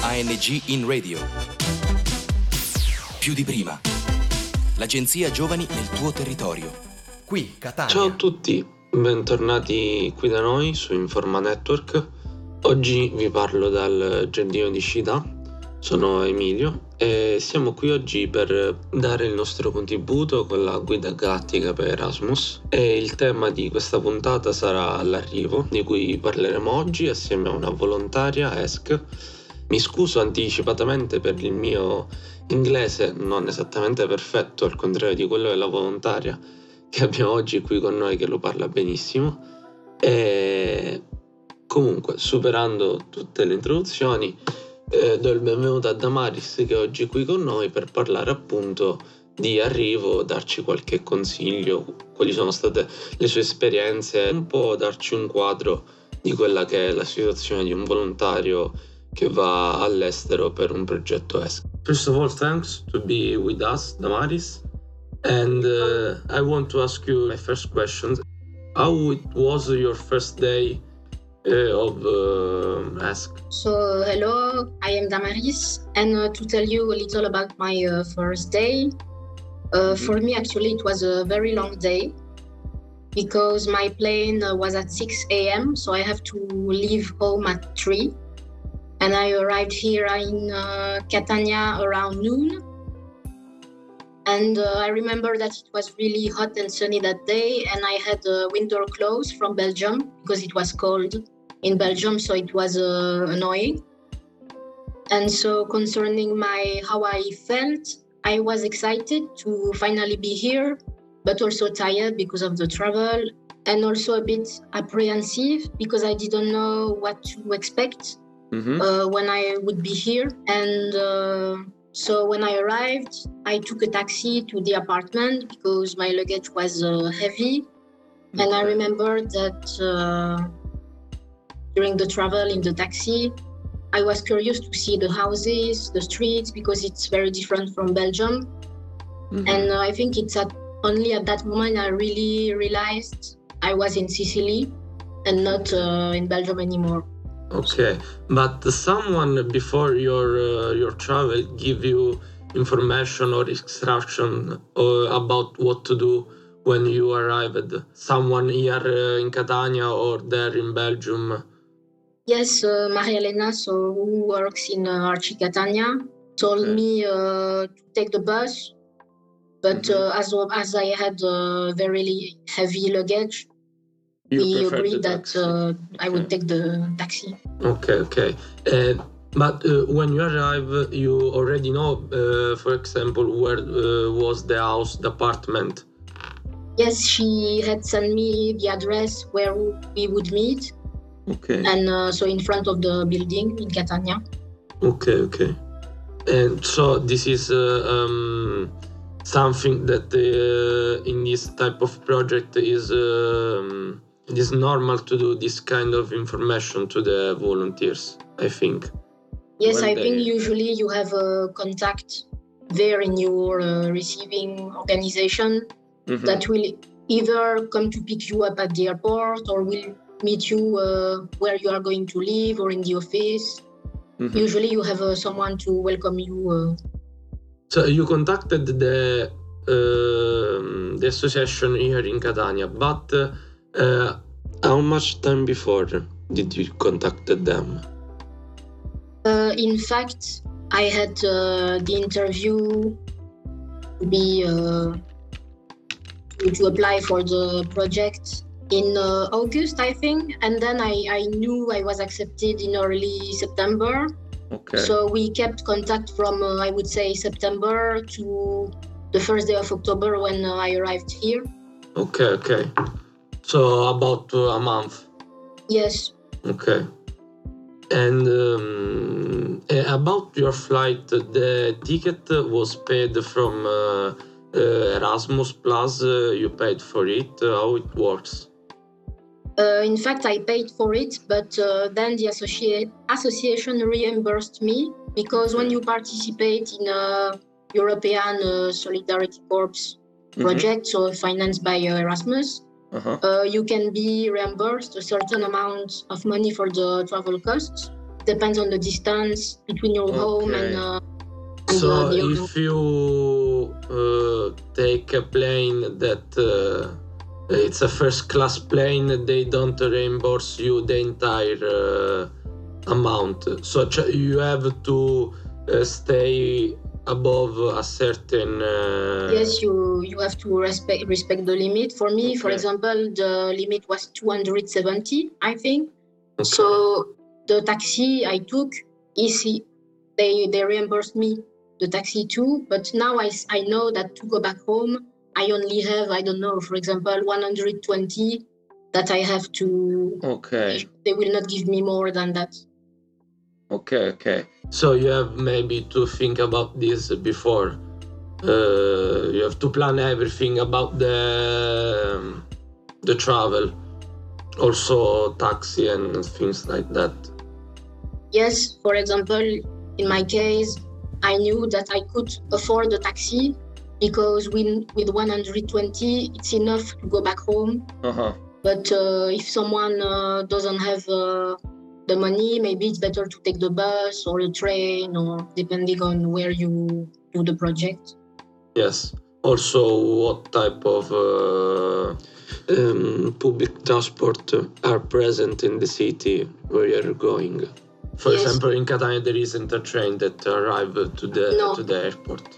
ANG in Radio. Più di prima. L'agenzia Giovani nel tuo territorio. Qui, Catania. Ciao a tutti, bentornati qui da noi su Informa Network. Oggi vi parlo dal giardino di Scida. Sono Emilio e siamo qui oggi per dare il nostro contributo con la guida galattica per Erasmus, e il tema di questa puntata sarà l'arrivo, di cui parleremo oggi assieme a una volontaria, Esk. Mi scuso anticipatamente per il mio inglese non esattamente perfetto, al contrario di quello della volontaria che abbiamo oggi qui con noi, che lo parla benissimo. E comunque, superando tutte le introduzioni, do il benvenuto a Damaris, che è oggi qui con noi per parlare appunto di arrivo, darci qualche consiglio, quali sono state le sue esperienze, un po' darci un quadro di quella che è la situazione di un volontario che va all'estero per un progetto ESC. First of all, thanks to be with us, Damaris. And I want to ask you my first question. How it was your first day of ESC? So, hello, I am Damaris, and to tell you a little about my first day. For me, actually, it was a very long day because my plane was at 6 a.m., so I have to leave home at 3. And I arrived here in Catania around noon. And I remember that it was really hot and sunny that day, and I had winter clothes from Belgium because it was cold in Belgium, so it was annoying. And so concerning how I felt, I was excited to finally be here, but also tired because of the travel, and also a bit apprehensive because I didn't know what to expect when I would be here. And so when I arrived, I took a taxi to the apartment because my luggage was heavy. Okay. And I remember that during the travel in the taxi, I was curious to see the houses, the streets, because it's very different from Belgium. And I think it's only at that moment I really realized I was in Sicily and not in Belgium anymore. Okay, but someone before your travel give you information or instruction about what to do when you arrived? Someone here in Catania or there in Belgium? Yes, Maria Elena, who works in Arci Catania, told me to take the bus, but as I had very heavy luggage, we agreed that I would take the taxi. Okay. But when you arrive, you already know, for example, where was the house, the apartment? Yes, she had sent me the address where we would meet. Okay. And so in front of the building in Catania. Okay. And so this is something that in this type of project is it is normal to do this kind of information to the volunteers, I think. Yes, I think usually you have a contact there in your receiving organization that will either come to pick you up at the airport or will meet you where you are going to live or in the office. Usually you have someone to welcome you. So you contacted the association here in Catania, but how much time before did you contact them? In fact, I had the interview to apply for the project in August, I think, and then I knew I was accepted in early September. Okay. So we kept contact from, I would say, September to the first day of October when I arrived here. Okay. So about a month? Yes. Okay. And about your flight, the ticket was paid from Erasmus Plus, you paid for it, how it works? In fact, I paid for it, but then the association reimbursed me because when you participate in a European Solidarity Corps project, so financed by Erasmus, you can be reimbursed a certain amount of money for the travel costs. depends on the distance between your home and so the if you take a plane that it's a first class plane, they don't reimburse you the entire amount. So you have to stay above a certain yes, you have to respect the limit. For me, for example, the limit was 270, I think. So the taxi I took, they reimbursed me the taxi too. But now I know that to go back home, I only have, I don't know, for example, 120 that I have to. They will not give me more than that. Okay. So you have maybe to think about this before. You have to plan everything about the travel, also taxi and things like that. Yes, for example, in my case, I knew that I could afford the taxi because with 120, it's enough to go back home. But if someone doesn't have the money, maybe it's better to take the bus or the train, or depending on where you do the project. Yes. Also, what type of public transport are present in the city where you're going? For example, in Catania, there isn't a train that arrives to the airport.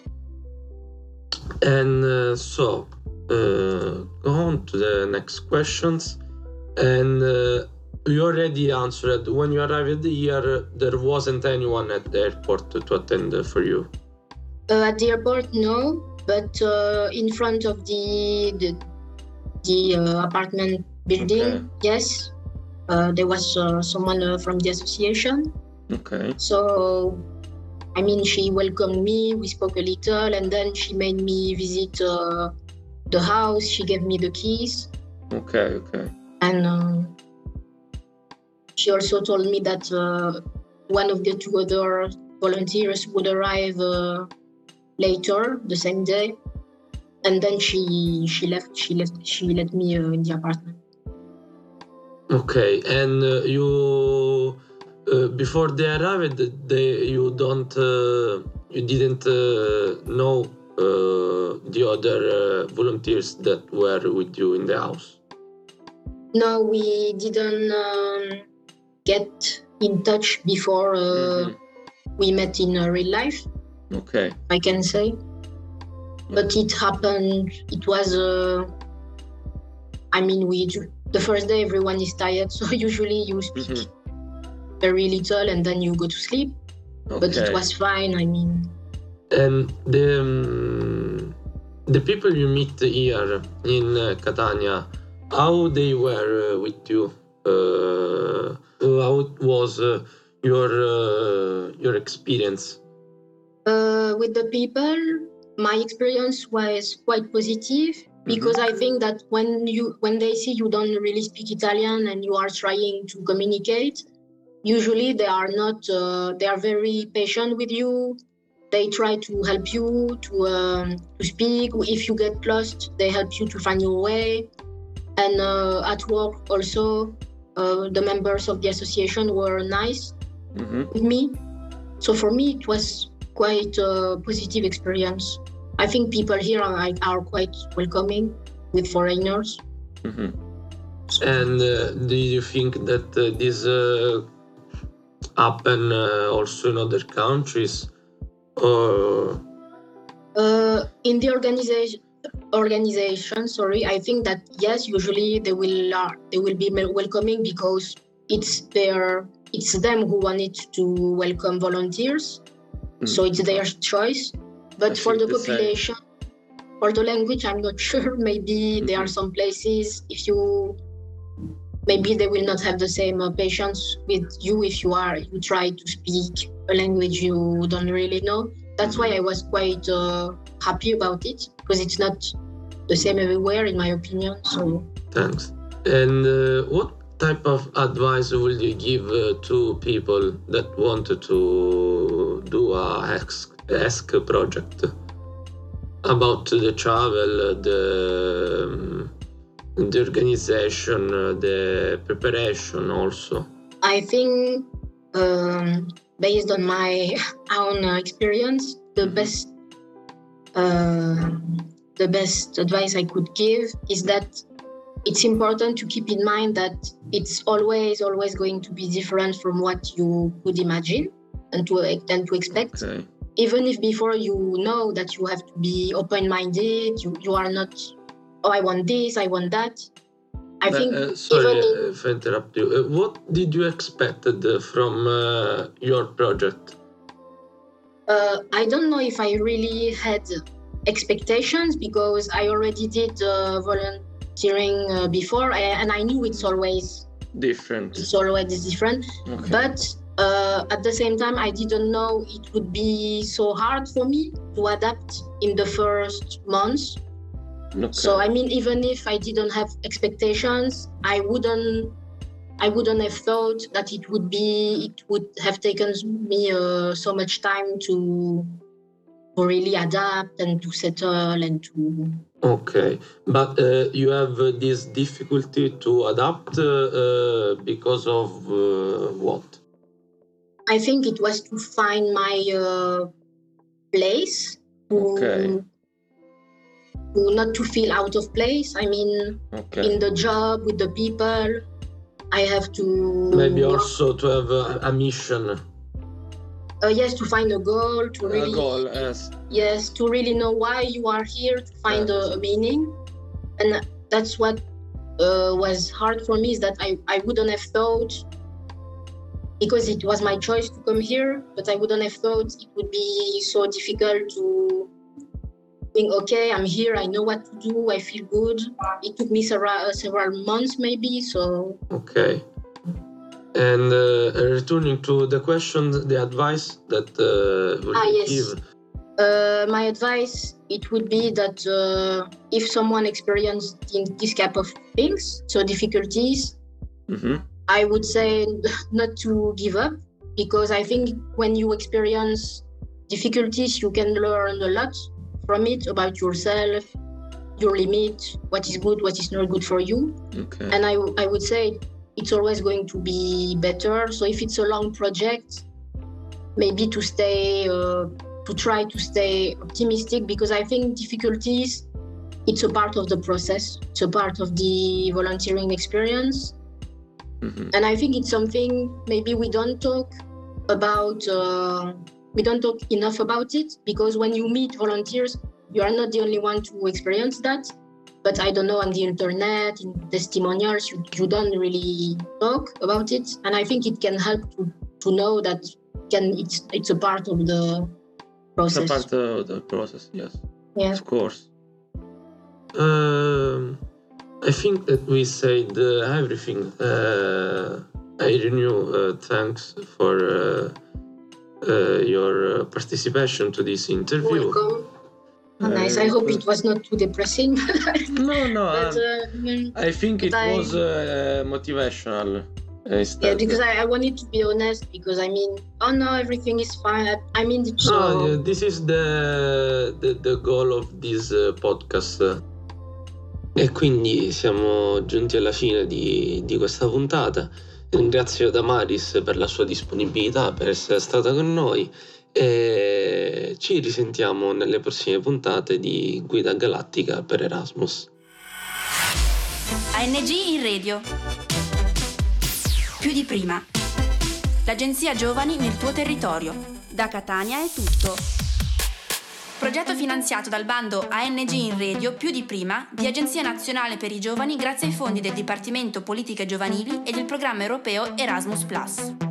And so, go on to the next questions. And you already answered. When you arrived here, there wasn't anyone at the airport to attend for you? At the airport, no. But in front of the apartment building, yes. There was someone from the association. So, I mean, she welcomed me, we spoke a little, and then she made me visit the house. She gave me the keys. And she also told me that one of the two other volunteers would arrive later the same day. And then she left. She let me in the apartment. Okay, and you before they arrived, you didn't know the other volunteers that were with you in the house? No, we didn't get in touch before we met in real life. I can say, but it happened. It was. The first day everyone is tired, so usually you speak very little and then you go to sleep. But it was fine, I mean. And the people you meet here in Catania, how they were with you? How was your experience? With the people, my experience was quite positive. Because I think that when they see you don't really speak Italian and you are trying to communicate, usually they are very patient with you. They try to help you to speak. If you get lost, they help you to find your way. And at work also, the members of the association were nice with me. So for me, it was quite a positive experience. I think people here are quite welcoming with foreigners. And do you think that this happen also in other countries? Or in the organization, I think that yes, usually they will be welcoming because it's them who wanted to welcome volunteers, so it's their choice. But for the population, for the language, I'm not sure. Maybe there are some places maybe they will not have the same patience with you if you try to speak a language you don't really know. That's why I was quite happy about it, because it's not the same everywhere, in my opinion. So thanks. And what type of advice would you give to people that wanted to do a ESC project about the travel, the organization, the preparation also? I think based on my own experience, the best advice I could give is that it's important to keep in mind that it's always going to be different from what you could imagine and to expect. Okay. Even if before you know that you have to be open-minded, you are not, I want this, I want that. I think sorry if I interrupt you. What did you expect from your project? I don't know if I really had expectations because I already did volunteering before, and I knew it's always different. Okay. But at the same time, I didn't know it would be so hard for me to adapt in the first months. Okay. So I mean, even if I didn't have expectations, I wouldn't have thought that it would have taken me so much time to really adapt and to settle and to. Okay, but you have this difficulty to adapt because of what? I think it was to find my place. Okay. Not to feel out of place. I mean, in the job, with the people, I have to... Maybe also to have a mission. Yes, to find a goal, to really... A goal, yes. Yes, to really know why you are here, to find a meaning. And that's what was hard for me, is that I wouldn't have thought, because it was my choice to come here, but I wouldn't have thought it would be so difficult to think, okay, I'm here, I know what to do, I feel good. It took me several months maybe, so... Okay. And returning to the question, the advice that would give? My advice, it would be that if someone experienced this type of things, so difficulties, I would say not to give up, because I think when you experience difficulties, you can learn a lot from it about yourself, your limit, what is good, what is not good for you. Okay. And I would say it's always going to be better. So if it's a long project, maybe to try to stay optimistic, because I think difficulties, it's a part of the process. It's a part of the volunteering experience. And I think it's something maybe we don't talk about, we don't talk enough about it, because when you meet volunteers, you are not the only one to experience that. But I don't know, on the internet, in testimonials, you don't really talk about it. And I think it can help to know that it's a part of the process. It's a part of the process, yes. Yeah. Of course. I think that we said everything. Irene, thanks for your participation to this interview. Welcome. Nice. I hope it was not too depressing. No. But, I think it was motivational. Yeah, because I wanted to be honest, because I mean, oh no, everything is fine. I mean, this is the goal of this podcast. E quindi siamo giunti alla fine di questa puntata. Ringrazio Damaris per la sua disponibilità, per essere stata con noi, e ci risentiamo nelle prossime puntate di Guida Galattica per Erasmus. ANG in radio. Più di prima. L'agenzia Giovani nel tuo territorio. Da Catania è tutto. Progetto finanziato dal bando ANG in radio più di prima di Agenzia Nazionale per i Giovani grazie ai fondi del Dipartimento Politiche Giovanili e del programma europeo Erasmus+.